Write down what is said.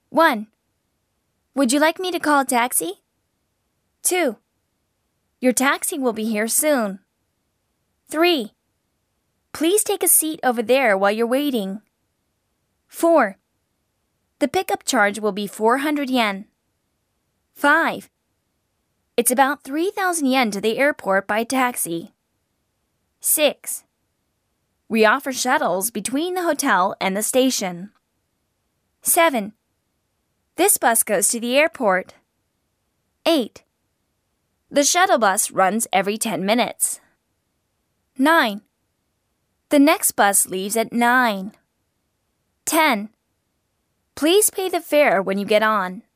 1. Would you like me to call a taxi? 2. Your taxi will be here soon. 3. Please take a seat over there while you're waiting. 4. The pickup charge will be 400 yen. 5. It's about 3,000 yen to the airport by taxi. 6. We offer shuttles between the hotel and the station. 7. This bus goes to the airport. 8. The shuttle bus runs every 10 minutes. 9. The next bus leaves at 9. 10. Please pay the fare when you get on.